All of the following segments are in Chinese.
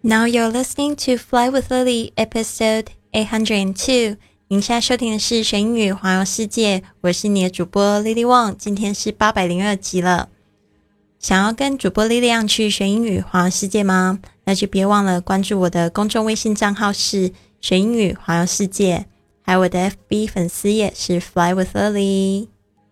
Now you're listening to Fly with Lily episode 802. 您现在收听的是学英语环游世界，我是你的主播 Lily Wang， 今天是802集了。想要跟主播 Lily 一样去学英语环游世界吗？那就别忘了关注我的公众微信账号是学英语环游世界，还有我的 FB 粉丝页是 Fly with Lily。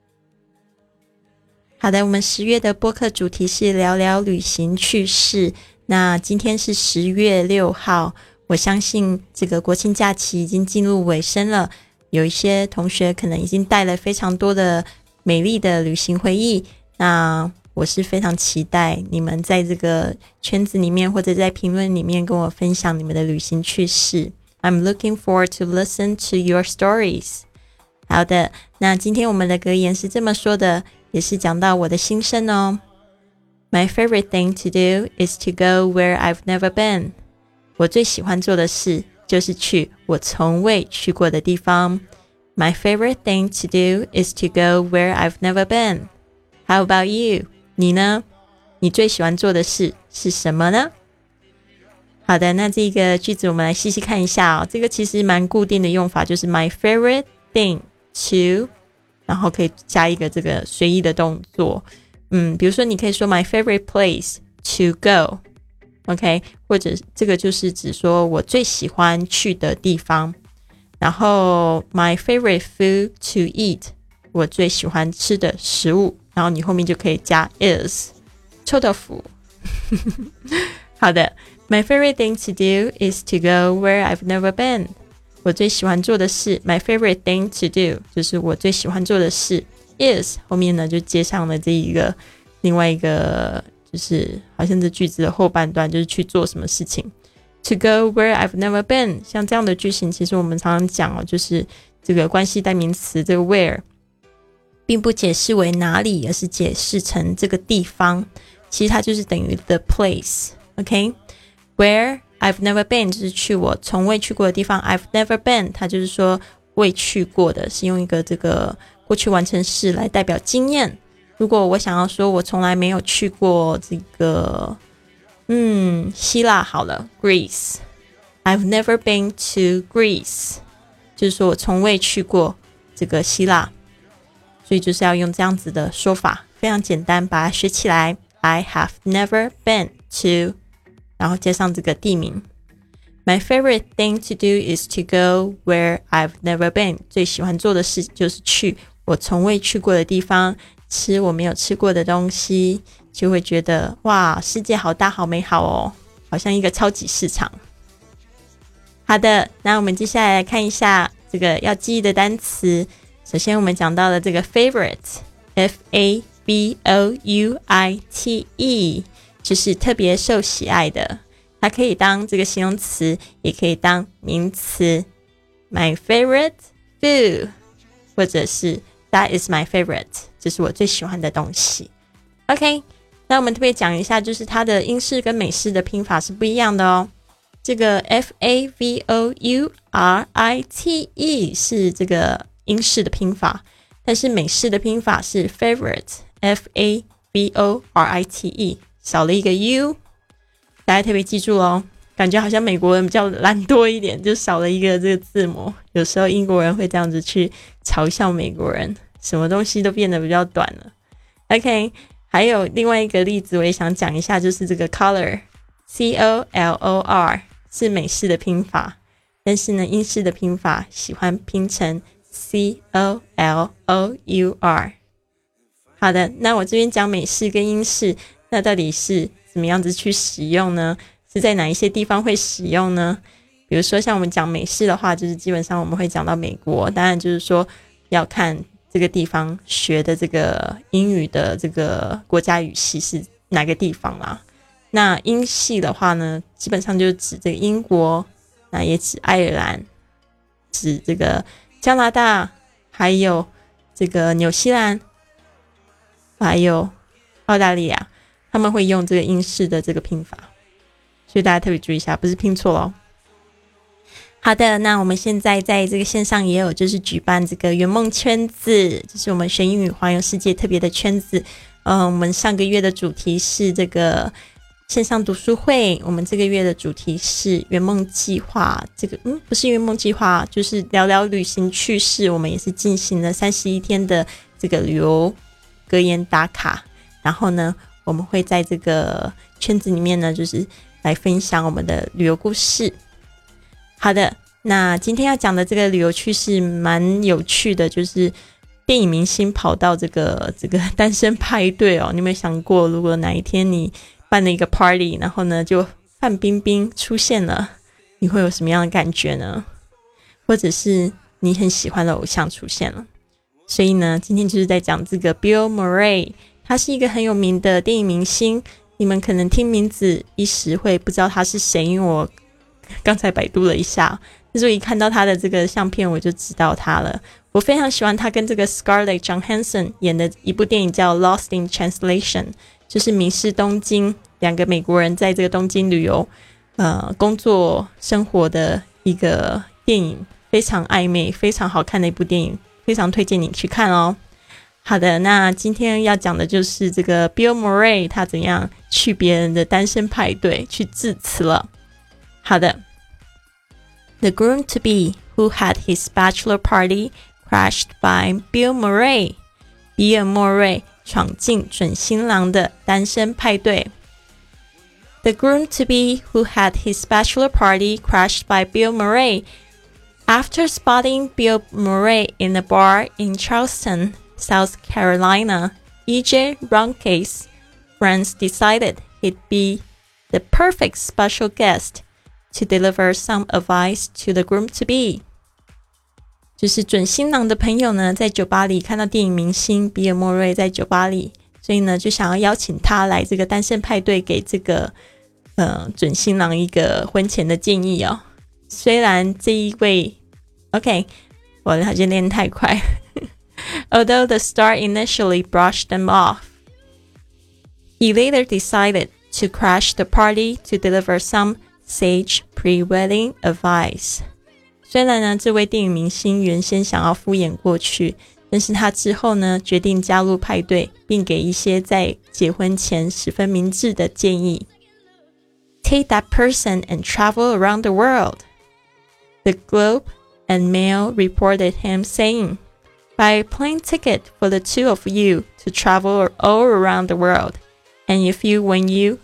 好的，我们10月的播客主题是聊聊旅行趣事。那今天是10月6号，我相信这个国庆假期已经进入尾声了，有一些同学可能已经带了非常多的美丽的旅行回忆，那我是非常期待你们在这个圈子里面或者在评论里面跟我分享你们的旅行趣事。 I'm looking forward to listen to your stories。 好的，那今天我们的格言是这么说的，也是讲到我的心声哦。My favorite thing to do is to go where I've never been. 我最喜欢做的事就是去我从未去过的地方。My favorite thing to do is to go where I've never been. How about you? 你呢？你最喜欢做的事是什么呢？好的，那这个句子我们来细细看一下哦。这个其实蛮固定的用法，就是 my favorite thing to， 然后可以加一个这个随意的动作。比如说你可以说 my favorite place to go， OK， 或者这个就是指说我最喜欢去的地方。然后 my favorite food to eat， 我最喜欢吃的食物，然后你后面就可以加 is， 臭豆腐。好的， my favorite thing to do is to go where I've never been。 我最喜欢做的事 my favorite thing to do 就是我最喜欢做的事is 后面呢就接上了这一个另外一个，就是好像这句子的后半段就是去做什么事情。 To go where I've never been， 像这样的句型其实我们常常讲哦，就是这个关系代名词这个 where 并不解释为哪里，而是解释成这个地方，其实它就是等于 the place。 OK， where I've never been 就是去我从未去过的地方， I've never been 它就是说未去过的，是用一个这个过去完成式来代表经验。如果我想要说我从来没有去过这个希腊好了 Greece， I've never been to Greece 就是说我从未去过这个希腊，所以就是要用这样子的说法，非常简单，把它学起来。 I have never been to 然后加上这个地名。 My favorite thing to do is to go where I've never been， 最喜欢做的事就是去我从未去过的地方，吃我没有吃过的东西，就会觉得哇，世界好大好美好哦，好像一个超级市场。好的，那我们接下来看一下这个要记忆的单词。首先我们讲到了这个 favorite F-A-V-O-U-I-T-E 就是特别受喜爱的，它可以当这个形容词，也可以当名词。 My favorite food 或者是 That is my favorite 这是我最喜欢的东西。 OK， 那我们特别讲一下，就是它的英式跟美式的拼法是不一样的哦。这个 F-A-V-O-U-R-I-T-E 是这个英式的拼法，但是美式的拼法是 favorite F-A-V-O-R-I-T-E 少了一个 U， 大家特别记住哦。感觉好像美国人比较懒惰一点，就少了一个这个字母，有时候英国人会这样子去嘲笑美国人，什么东西都变得比较短了。 OK， 还有另外一个例子我也想讲一下，就是这个 color C-O-L-O-R 是美式的拼法，但是呢英式的拼法喜欢拼成 C-O-L-O-U-R。 好的，那我这边讲美式跟英式，那到底是怎么样子去使用呢？是在哪一些地方会使用呢？比如说像我们讲美式的话，就是基本上我们会讲到美国，当然就是说要看这个地方学的这个英语的这个国家语系是哪个地方啦。那英系的话呢，基本上就指这个英国，那也指爱尔兰，指这个加拿大，还有这个纽西兰，还有澳大利亚，他们会用这个英式的这个拼法，所以大家特别注意一下，不是拼错咯。好的，那我们现在在这个线上也有就是举办这个圆梦圈子，就是我们学英语环游世界特别的圈子。我们上个月的主题是这个线上读书会。我们这个月的主题是圆梦计划，这个不是圆梦计划，就是聊聊旅行趣事。我们也是进行了31天的这个旅游格言打卡，然后呢我们会在这个圈子里面呢就是来分享我们的旅游故事。好的，那今天要讲的这个旅游趣事蛮有趣的，就是电影明星跑到这个单身派对哦。你有没有想过，如果哪一天你办了一个 party， 然后呢就范冰冰出现了，你会有什么样的感觉呢？或者是你很喜欢的偶像出现了。所以呢今天就是在讲这个 Bill Murray， 他是一个很有名的电影明星，你们可能听名字一时会不知道他是谁，因为我刚才百度了一下，但是我一看到他的这个相片我就知道他了。我非常喜欢他跟这个 Scarlett Johansson 演的一部电影叫 Lost in Translation， 就是迷失东京，两个美国人在这个东京旅游工作生活的一个电影，非常暧昧非常好看的一部电影，非常推荐你去看哦。好的，那今天要讲的就是这个 Bill Murray 他怎样去别人的单身派对去致辞了。好的， The groom-to-be who had his bachelor party crashed by Bill Murray， 比尔莫瑞闯进准新郎的单身派对。 The groom-to-be who had his bachelor party crashed by Bill Murray. After spotting Bill Murray in a bar in Charleston, South Carolina, E.J. Ronke's friends decided he'd be the perfect special guest to deliver some advice to the groom-to-be。 就是准新郎的朋友呢在酒吧里看到电影明星比尔莫瑞在酒吧里，所以呢就想要邀请他来这个单身派对，给这个准新郎一个婚前的建议哦。虽然这一位 OK 我好像练太快Although the star initially brushed them off, he later decided to crash the party to deliver some sage pre-wedding advice。 虽然呢这位电影明星原先想要敷衍过去，但是他之后呢决定加入派对，并给一些在结婚前十分明智的建议。 Take that person and travel around the world, the Globe and Mail reported him saying. Buy a plane ticket for the two of you to travel all around the world, and if when you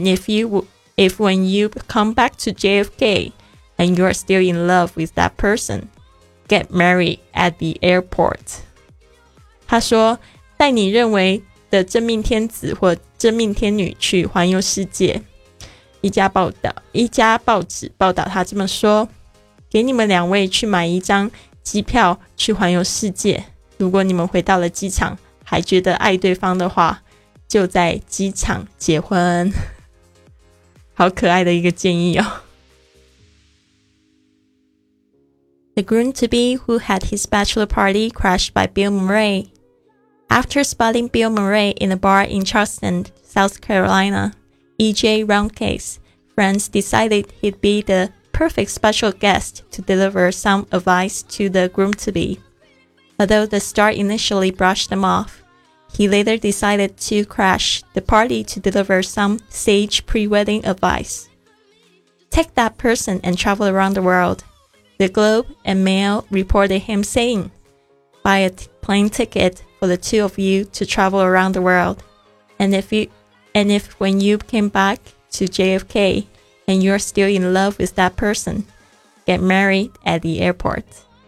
come back to JFK and you're still in love with that person, get married at the airport。 他说带你认为的真命天子或真命天女去环游世界。一家报纸报道他这么说，给你们两位去买一张机票去环游世界，如果你们回到了机场还觉得爱对方的话，就在机场结婚。好可爱的一个建议哦。 The groom-to-be who had his bachelor party crashed by Bill Murray. After spotting Bill Murray in a bar in Charleston, South Carolina, E.J. Ronke's friends decided he'd be the perfect special guest to deliver some advice to the groom-to-be. Although the star initially brushed them off, he later decided to crash the party to deliver some sage pre-wedding advice. Take that person and travel around the world, the Globe and Mail reported him saying. Buy a plane ticket for the two of you to travel around the world, and if when you came back to JFK and you're still in love with that person, get married at the airport.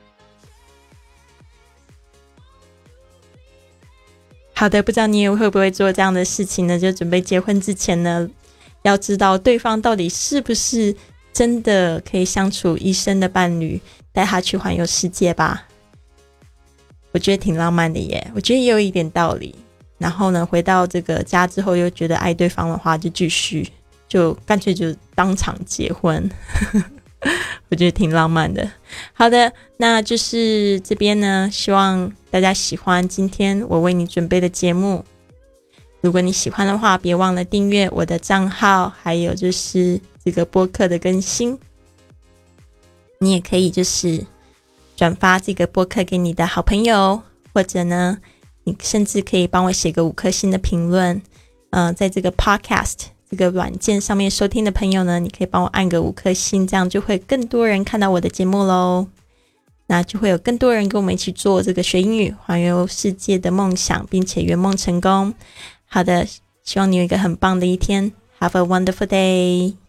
好的，不知道你也会不会做这样的事情呢？就准备结婚之前呢，要知道对方到底是不是真的可以相处一生的伴侣，带他去环游世界吧。我觉得挺浪漫的耶，我觉得也有一点道理。然后呢，回到这个家之后又觉得爱对方的话，就继续就干脆就当场结婚我觉得挺浪漫的。好的，那就是这边呢，希望大家喜欢今天我为你准备的节目。如果你喜欢的话，别忘了订阅我的账号，还有就是这个播客的更新。你也可以就是转发这个播客给你的好朋友，或者呢你甚至可以帮我写个5颗星的评论。在这个 podcast 这个软件上面收听的朋友呢，你可以帮我按个5颗星，这样就会更多人看到我的节目咯。那就会有更多人跟我们一起做这个学英语环游世界的梦想，并且圆梦成功。好的，希望你有一个很棒的一天。Have a wonderful day.